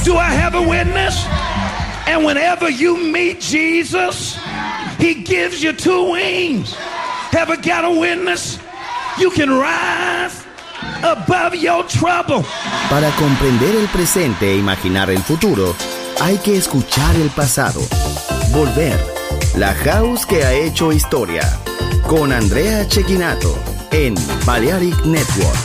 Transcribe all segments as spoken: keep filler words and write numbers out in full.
Do I have a witness? And whenever you meet Jesus, he gives you two wings. Have I got a witness? You can rise above your trouble. Para comprender el presente e imaginar el futuro, hay que escuchar el pasado. Volver. La House que ha hecho historia. Con Andrea Cecchinato en Balearic Network.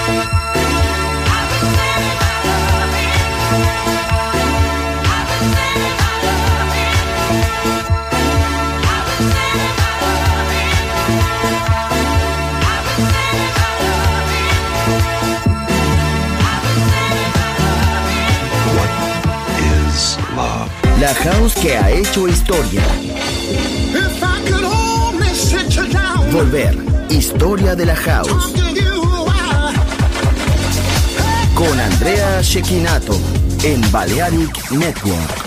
La house que ha hecho historia. Volver, historia de la house. Con Andrea Cecchinato en Balearic Network.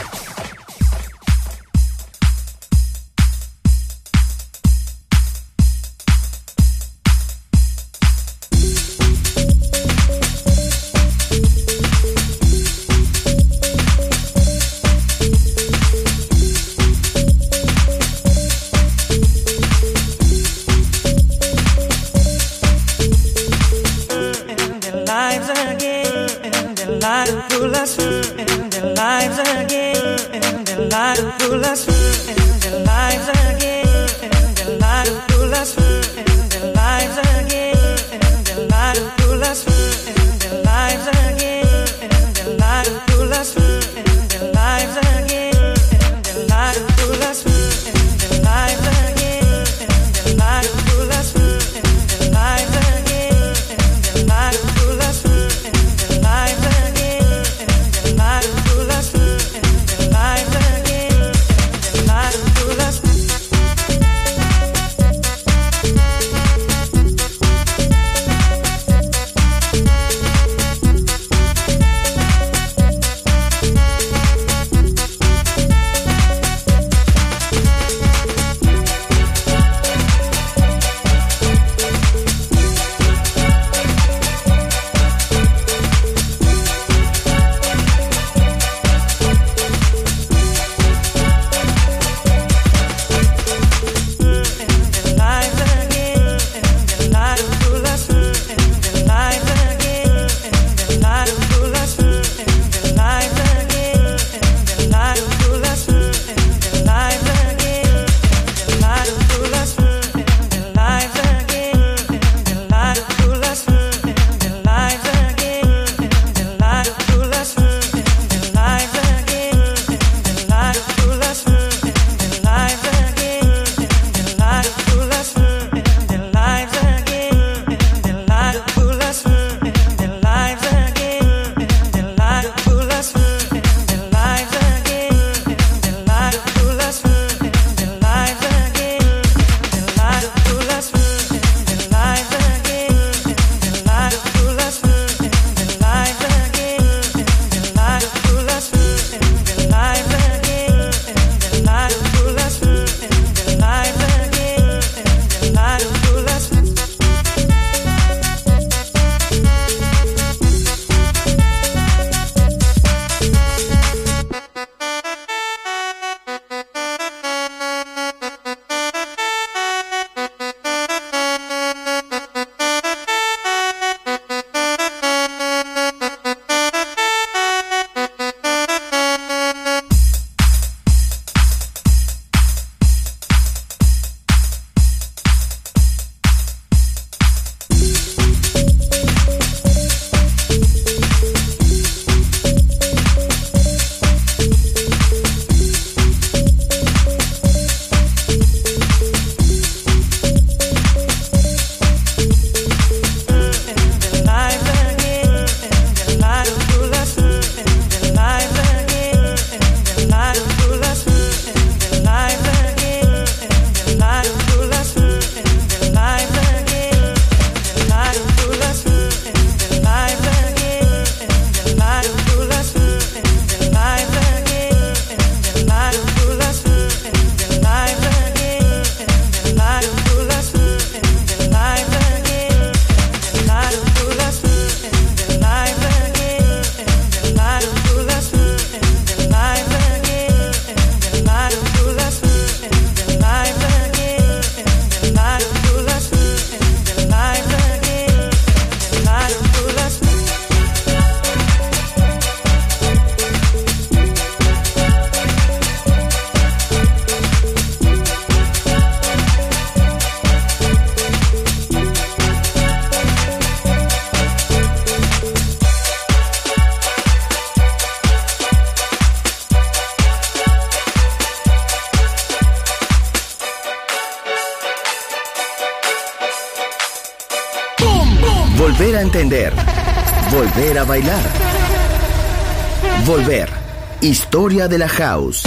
Volver a entender. Volver a bailar. Volver. Historia de la House.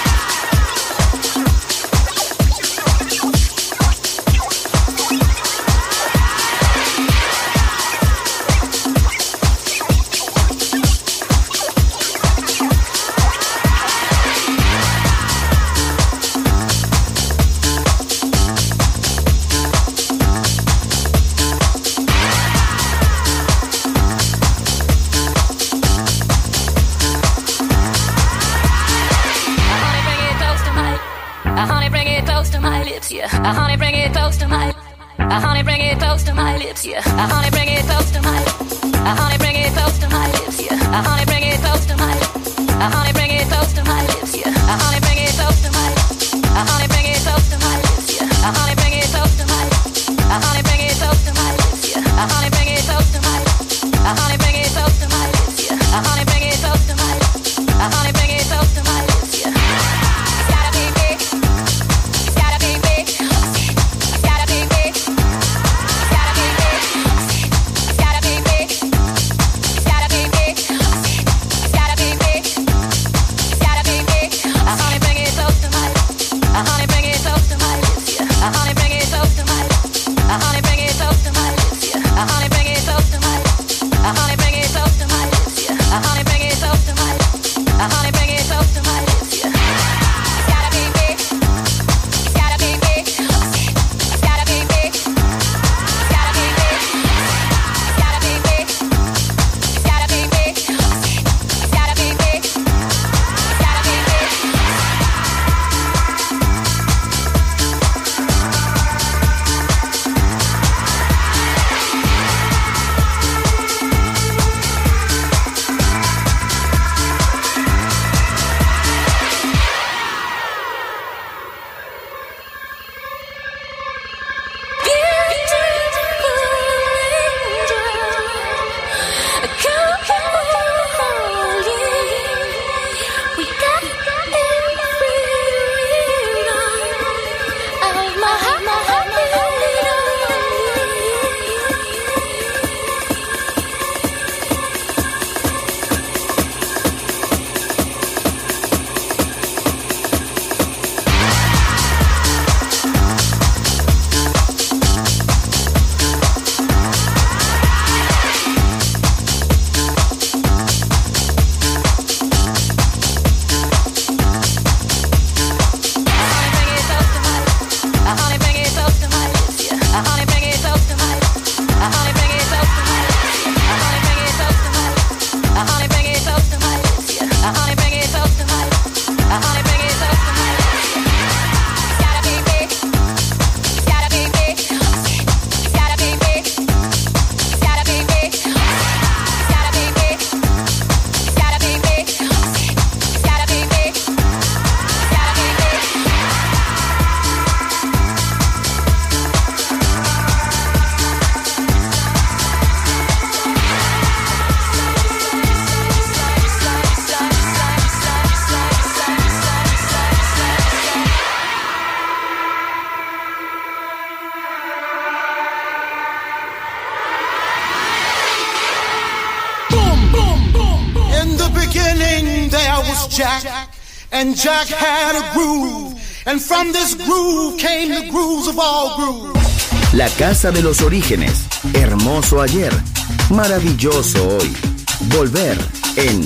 Jack, and Jack had a groove, and from this groove came the grooves of all grooves. La casa de los orígenes, hermoso ayer, maravilloso hoy. Volver en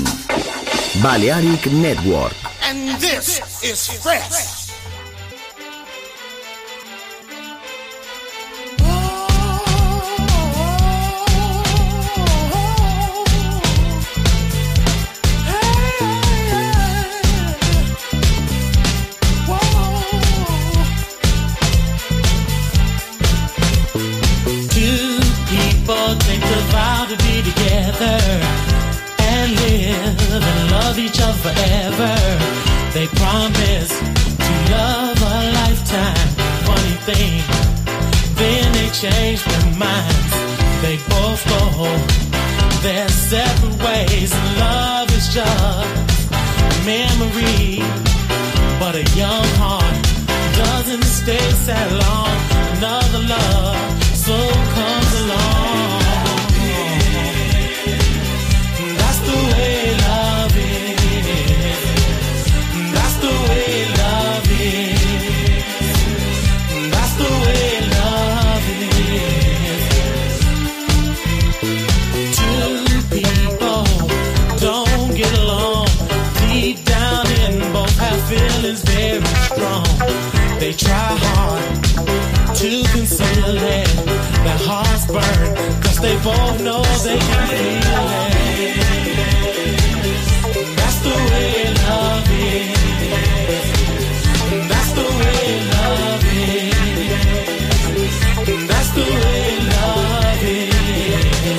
Balearic Network. And this is fresh. Forever, they promise to love a lifetime. Funny thing, then they change their minds. They both go their separate ways. Love is just a memory, but a young heart doesn't stay sad long. Another love soon comes along. both know they can feel it. That's the way love is. That's the way love is. That's the way love is.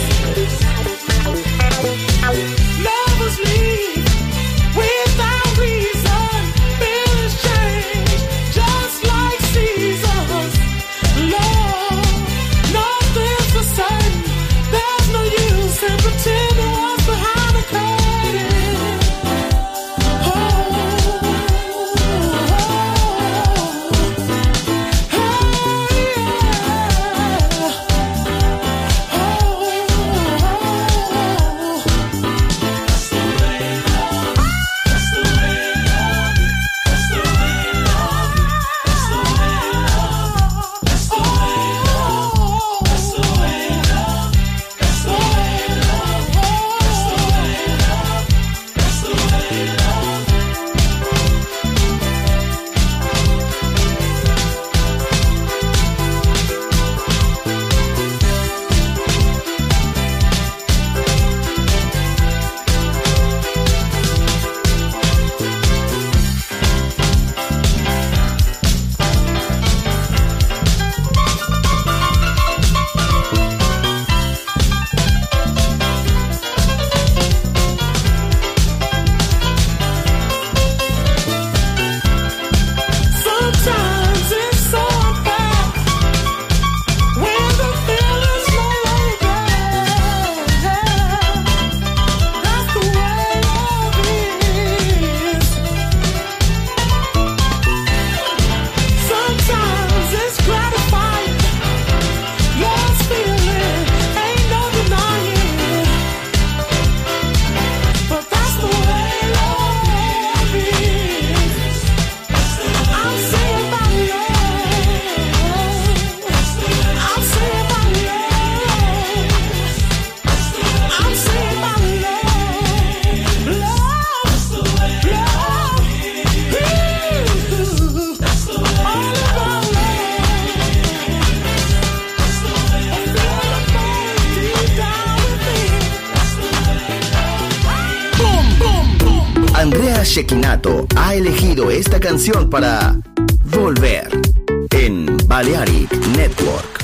Lovers leave without reason. Feelings change just like seasons. Love, nothing's the same. There's no use in pretending what's behind the curtain. Oh, oh, oh, sometimes it's so unfair when the feeling's no longer there. That's the way love is. Sometimes it's gratifying. Love's feeling ain't no denying. But that's the way love is. I'm saying about love. I'm saying about love. I'm saying about love. Love, love. Ooh, all about love. I feel the pain deep down within. Boom, boom, boom. Andrea Cecchinato ha elegido esta canción para Volver en Balearic Network.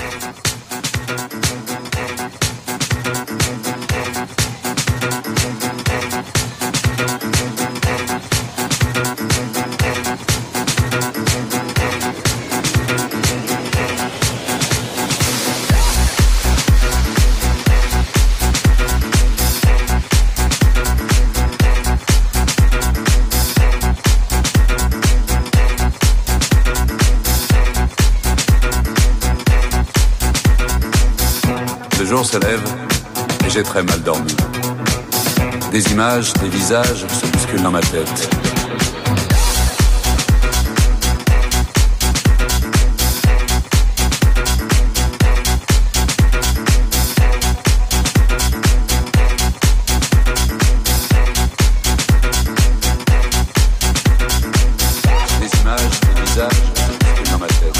Le jour se lève et j'ai très mal dormi. Des images, des visages se bousculent dans ma tête. Des images, des visages se bousculent dans ma tête.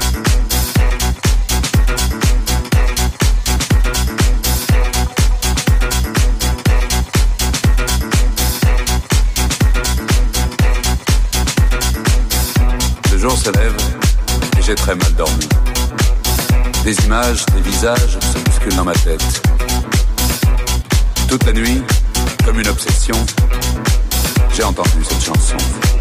Le jour se lève et j'ai très mal dormi. Des images, des visages se bousculent dans ma tête. Toute la nuit, comme une obsession, j'ai entendu cette chanson.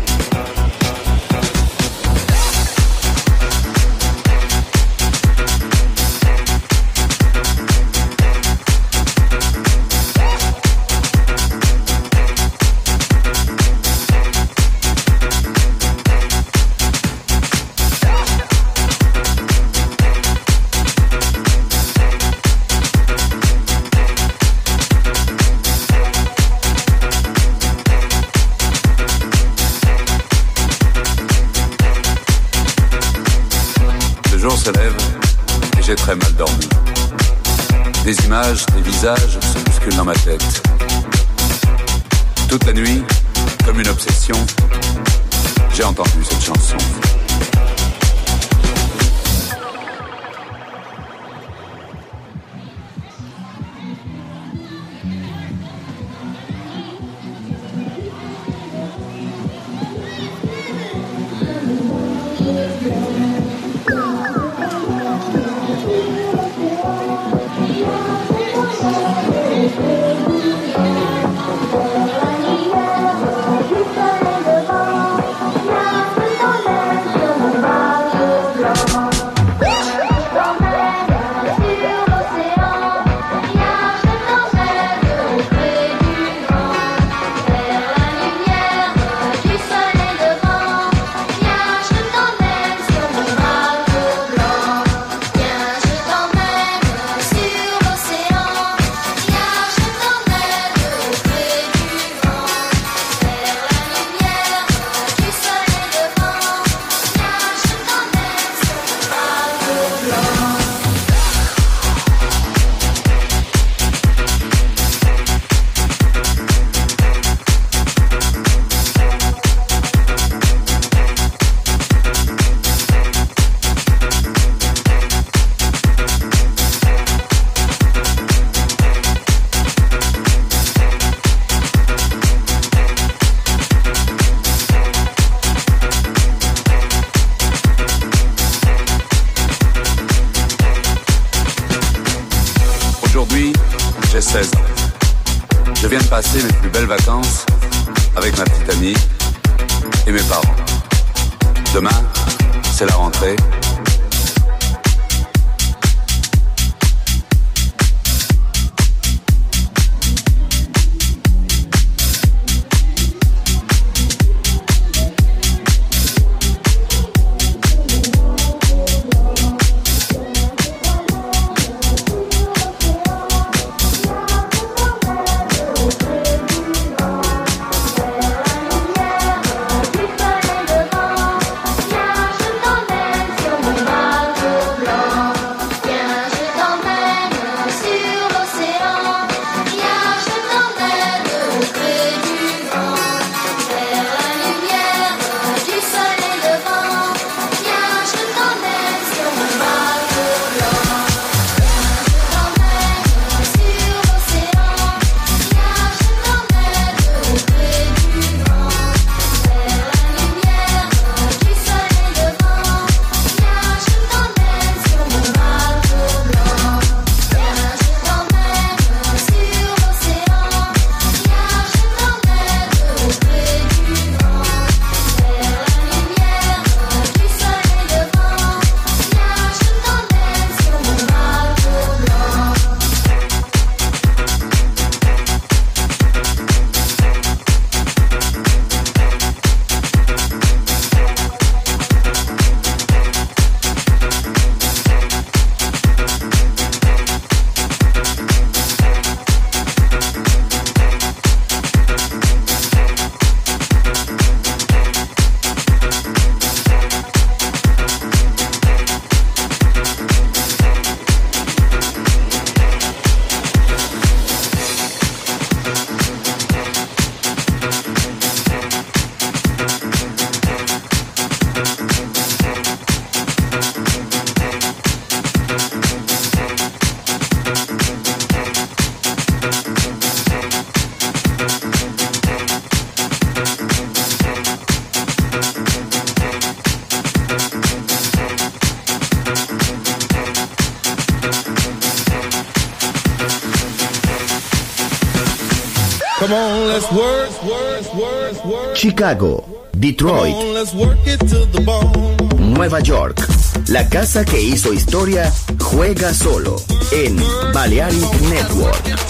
Le jour se lève et j'ai très mal dormi. Des images, des visages se bousculent dans ma tête. Toute la nuit, comme une obsession, j'ai entendu cette chanson. J'ai seize ans. Je viens de passer mes plus belles vacances avec ma petite amie et mes parents. Demain, c'est la rentrée. Come on, let's work, work, work, work. Chicago, Detroit, Come on, let's work it to the bone. Nueva York. La casa que hizo historia juega solo en Balearic Network.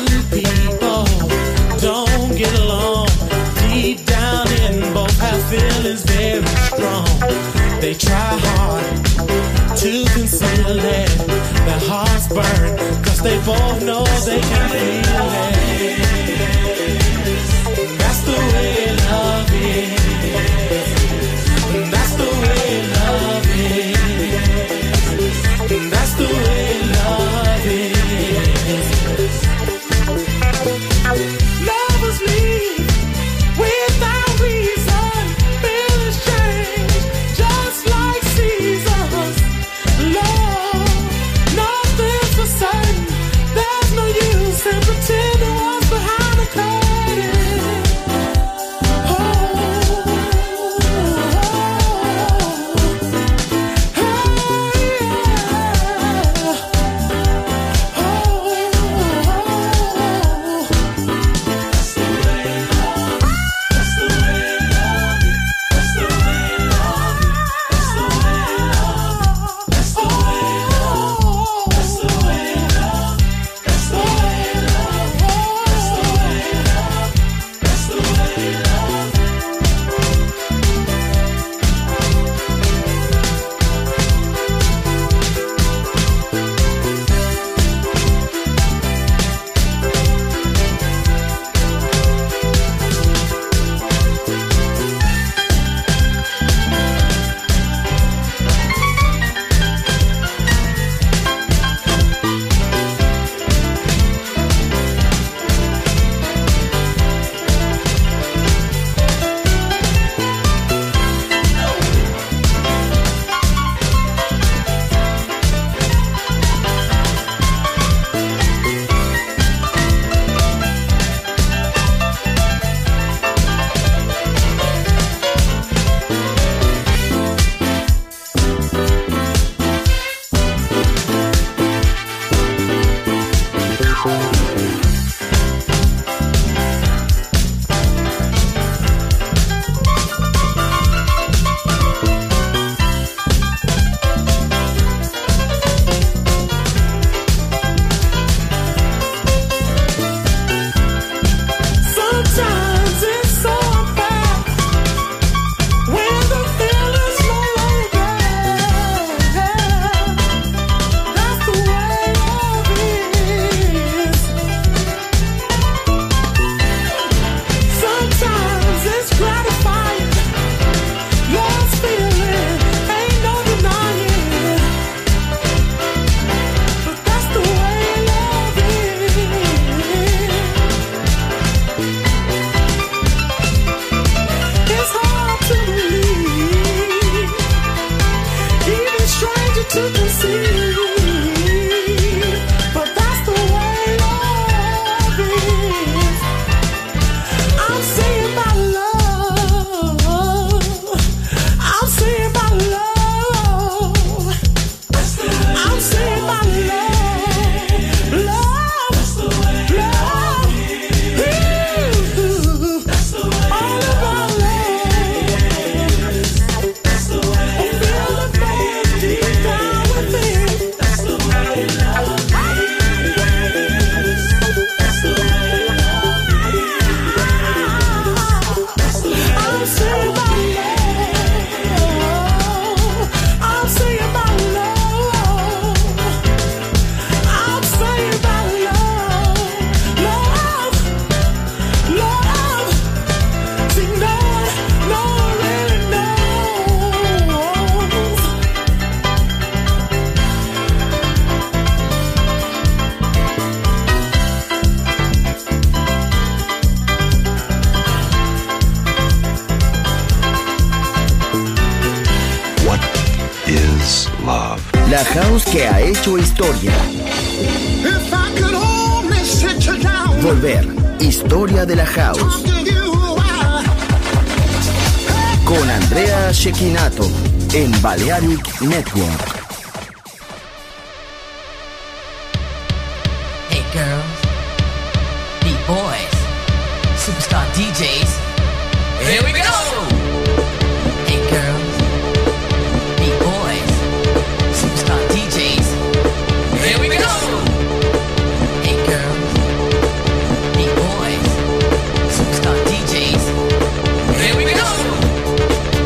Feel will is very strong. They try hard to conceal it. Their hearts burn, cause they both know they can feel it. That's the way love is. That's the way love is. That's the way love is. Lovers leave without reason. Feelings change just like seasons. Love, nothing's for certain. There's no use in pretending what's behind the curtain. Oh, sometimes it's so unfair when the feeling's no longer there. That's the way love is. Sometimes it's gratifying. Love's feeling ain't no denying. But that's the way love is. It's hard to believe, even stranger to conceive. But that's the way love is. I'm saying my love. I'm saying my love. I'm saying my love. Love. Love. Ooh. All about love. I feel the pain deep down within. That's the way love is. That's the way love is. I'm saying my love. I'm saying my love. I'm saying my love. Love. Love. See, no one, no one really knows. What is love? La house que ha hecho historia. If I could only sit you down, Volver. Historia de la house. talk to you a while. Con Andrea Cecchinato en Balearic Network. Hey girls, beat boys, superstar D Js. Here we go. Hey girls, beat boys, superstar D Js. Here we go. Hey girls, beat boys, superstar D Js. Here we go.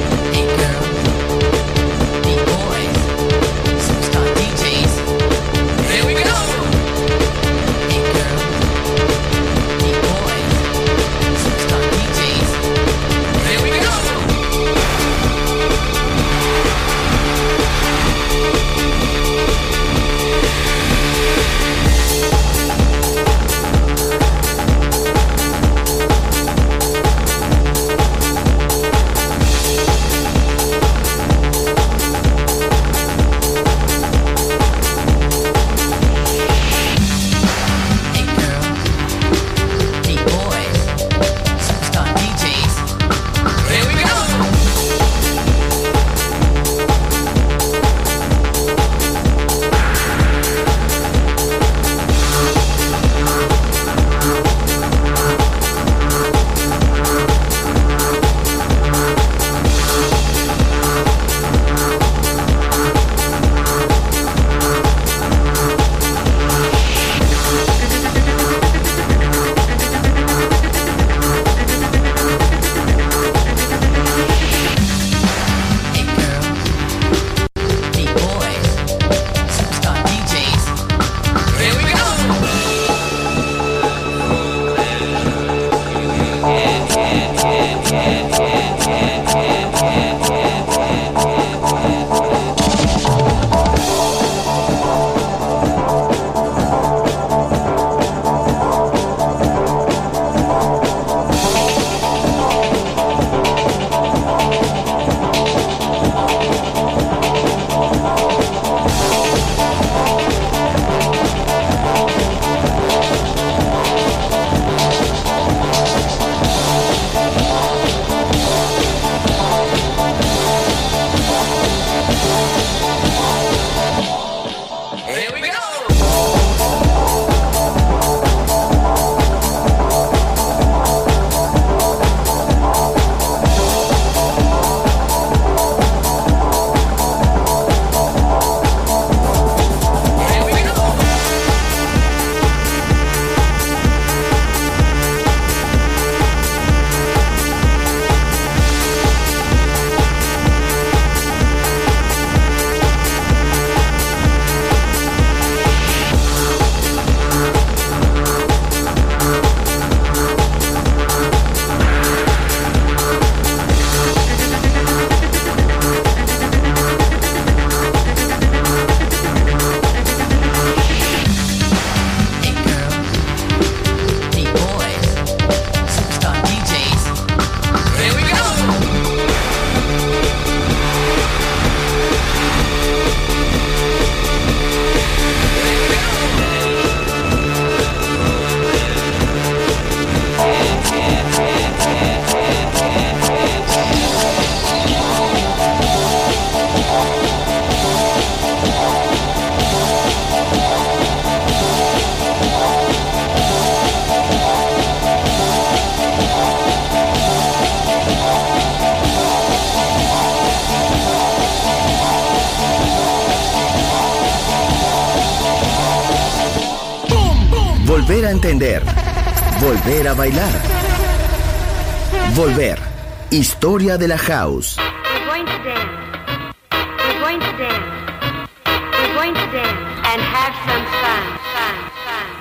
Volver a entender. Volver a bailar. Volver. Historia de la house. We're going to dance. We're going to dance. We're going to dance and have some fun. Fun. Fun.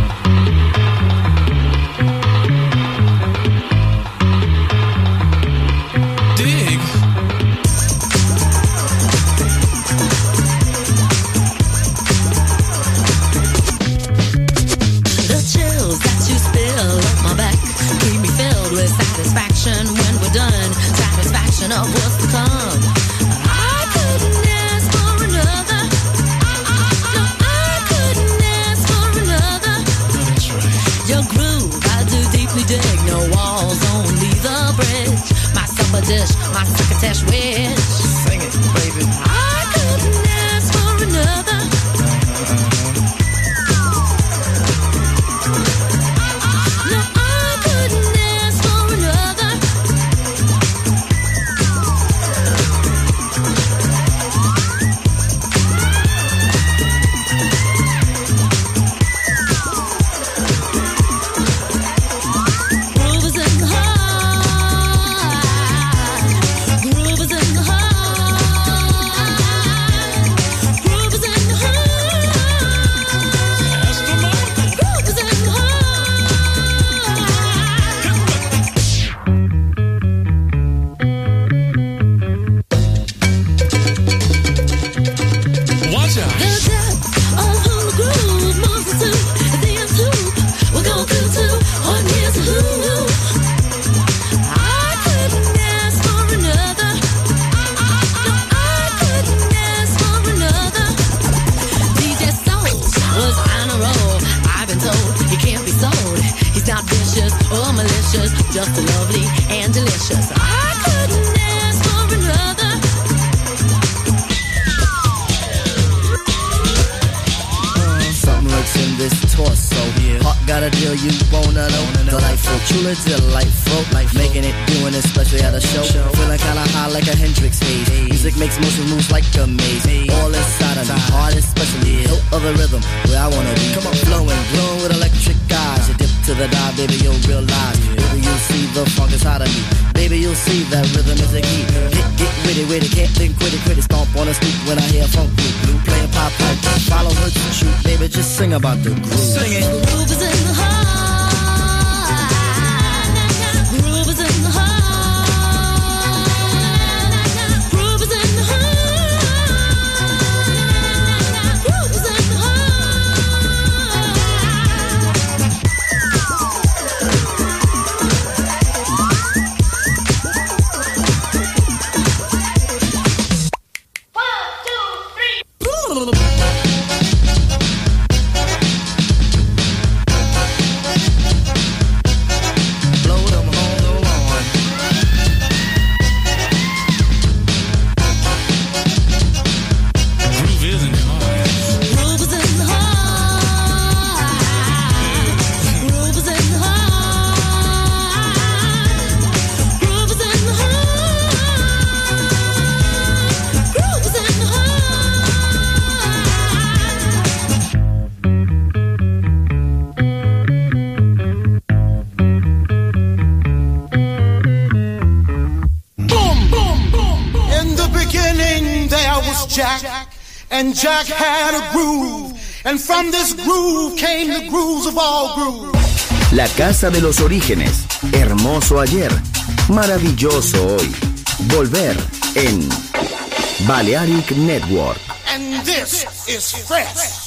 Satisfaction when we're done, satisfaction of what's to come. I couldn't ask for another. No, I couldn't ask for another. Your groove, I do deeply dig. No walls, only the bridge. My supper dish, my succotash wish. Sing it, baby. I couldn't ask for another. Just lovely and delicious. I couldn't ask for another. Uh, something lurks in this torso. Yeah. Heart got a deal you wanna know. Delightful, truly delightful. Life making it, doing it, especially at a show. show. Feeling kinda high like a Hendrix haze. Hey. Music makes motion moves like a maze. Hey. All inside of me, heart especially. Hilt of the rhythm, where I wanna be. Come on, flowing, glowing with electric eyes. You dip to the dive, baby, you'll realize. Baby, you'll see the funk inside of me. Baby, you'll see that rhythm is a key. Get, get witty, witty, can't think quitty, quitty. Stomp on the street when I hear funk blue, blue playing pop pipe. Follow her to shoot, baby, just sing about the groove. Sing it. The groove is in the heart. Groove is in the heart. Groove is in the heart. Groove is in the heart. And Jack had a groove, and from this groove came the grooves of all grooves. La casa de los orígenes, hermoso ayer, maravilloso hoy. Volver en Balearic Network. And this is fresh.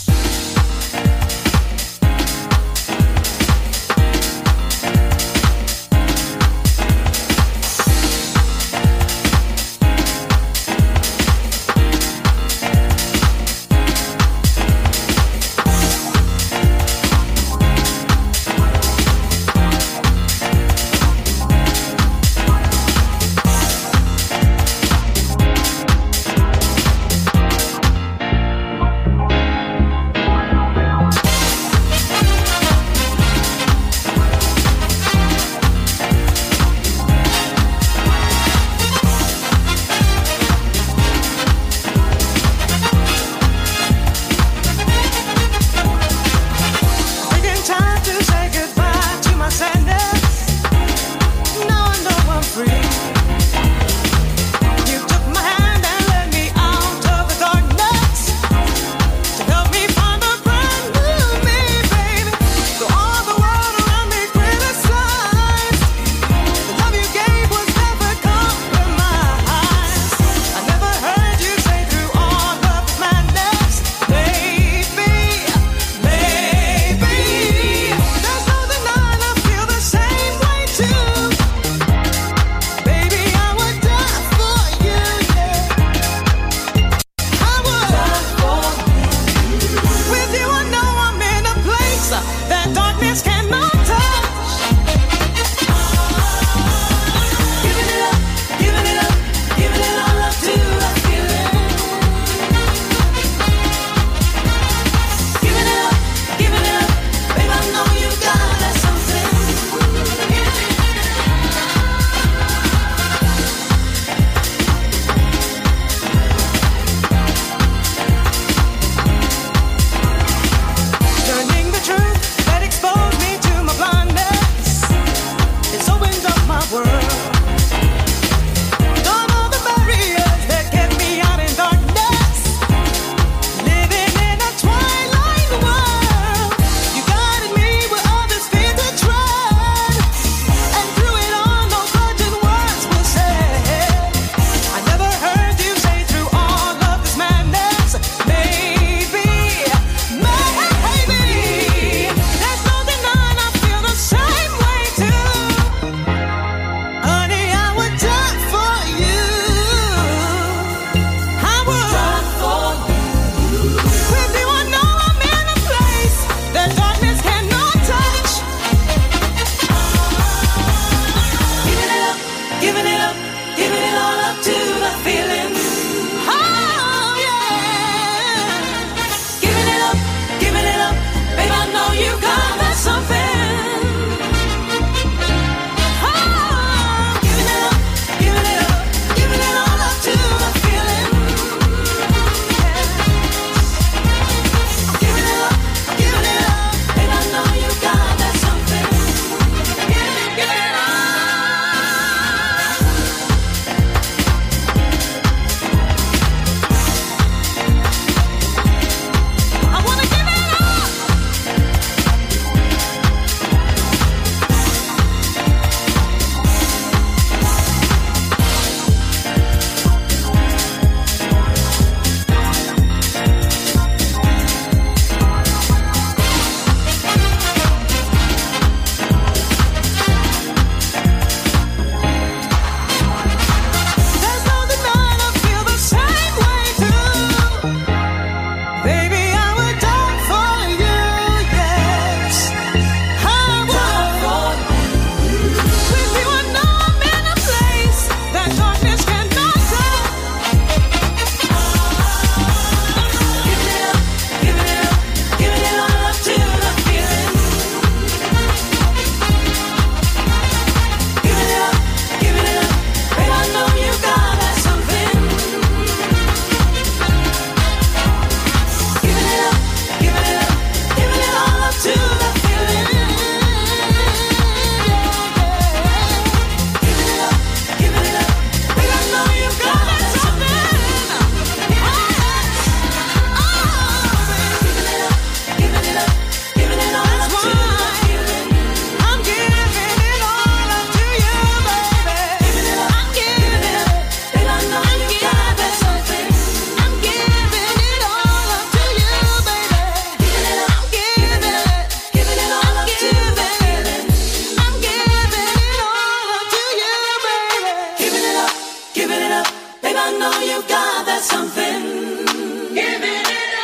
I know you got that something. Giving it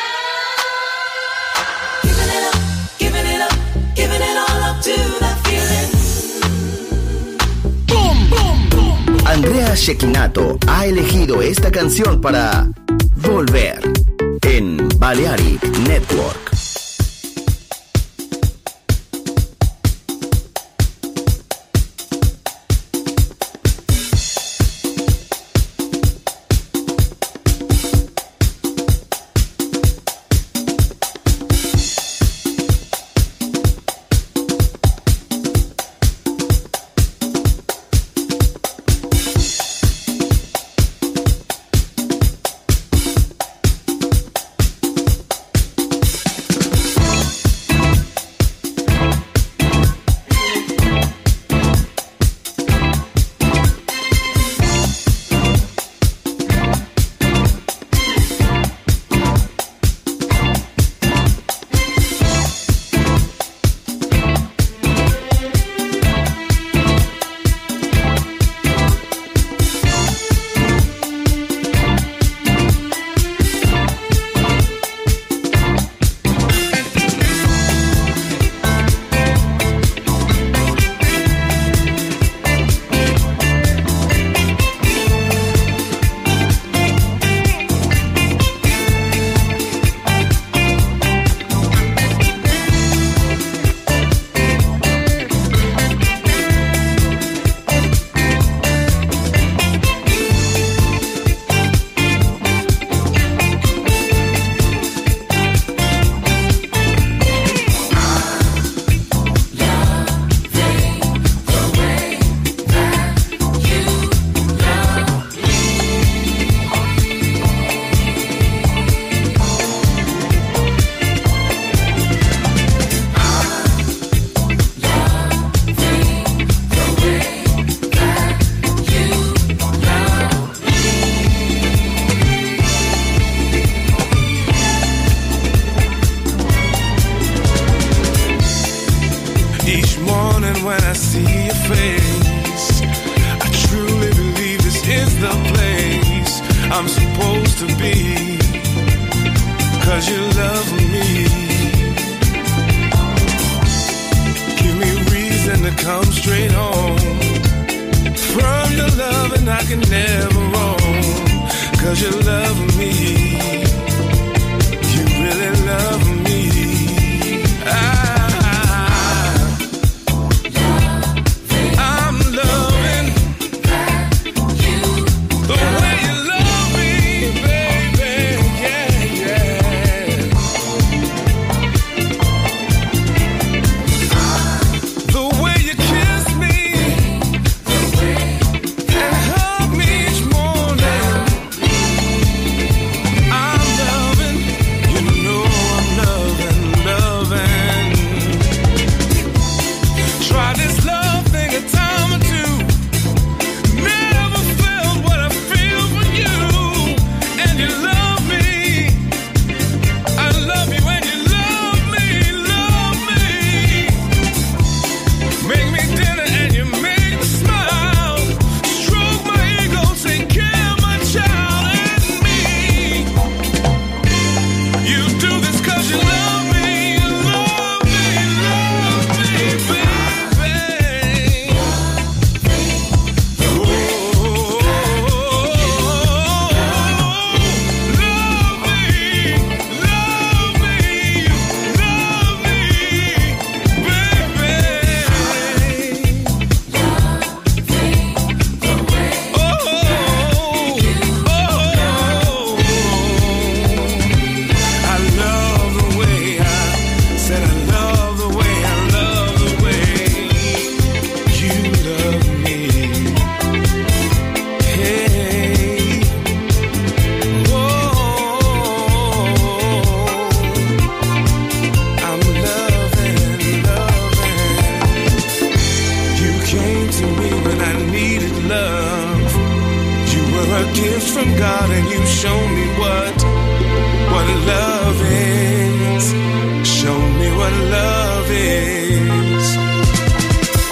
up, giving it up, giving it up, giving it all up to that feeling. Boom, boom, boom. Andrea Cecchinato ha elegido esta canción para Volver en Balearic Network.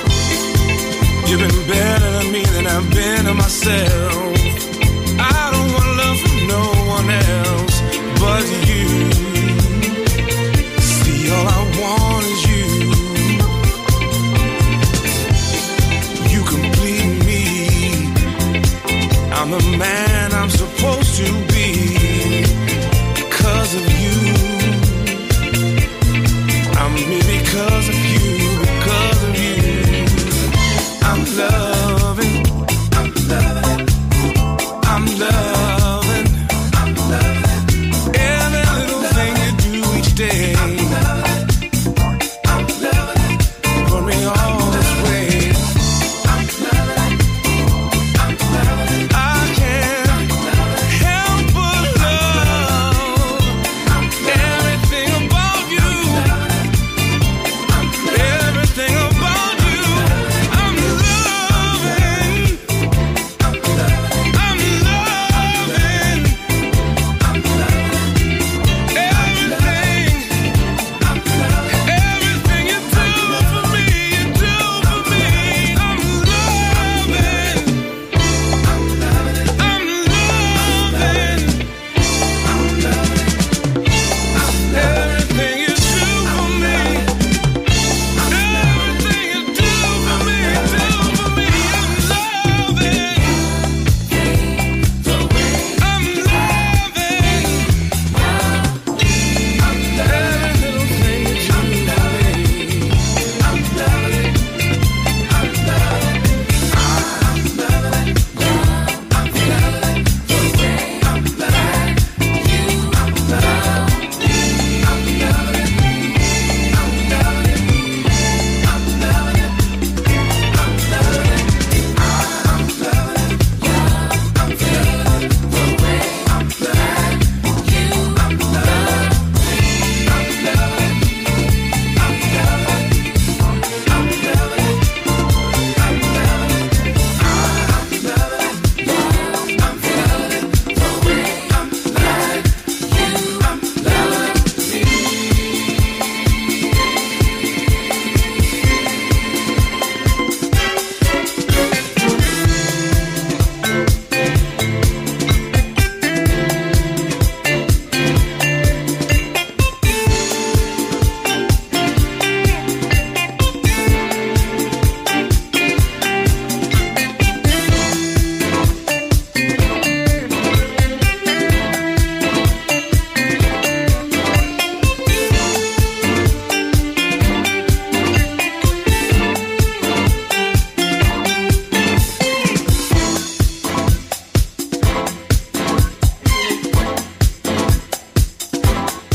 You've been better to me than I've been to myself. I don't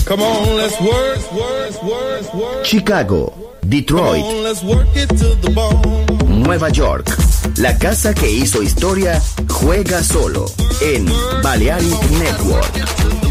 Come on, let's work, work, work, work. Chicago, Detroit, Come on, let's work it to the bone. Nueva York. La casa que hizo historia juega solo en Balearic Network.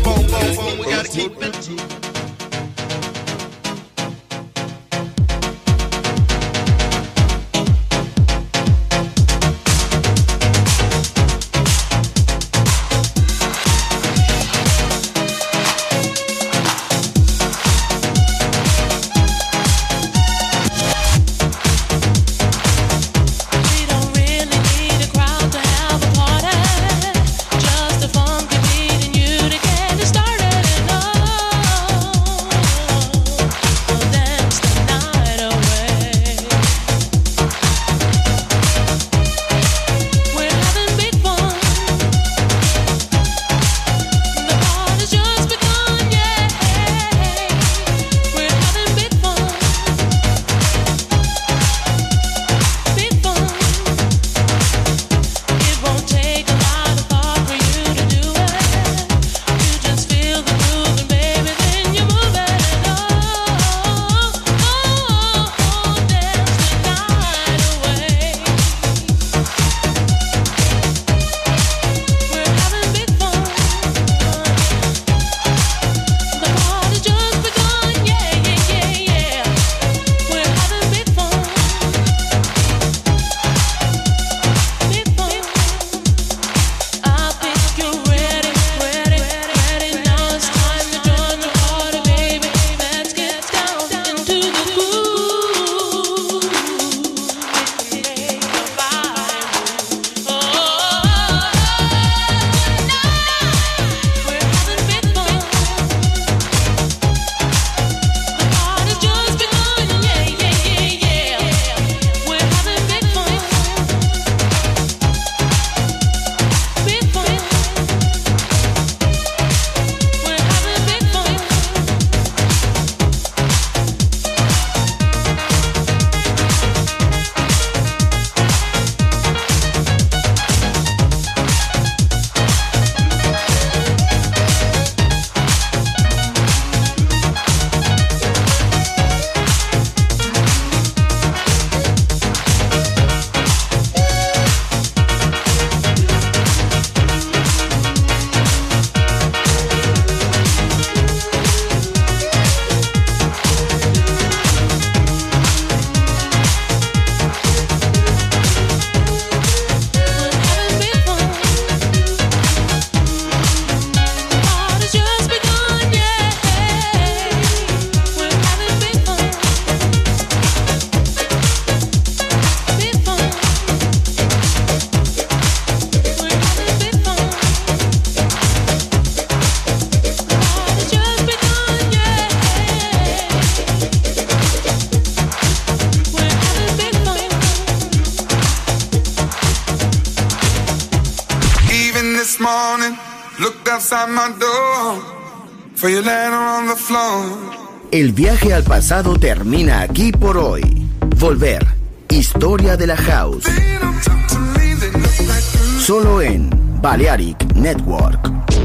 El viaje al pasado termina aquí por hoy. Volver. Historia de la House. Solo en Balearic Network.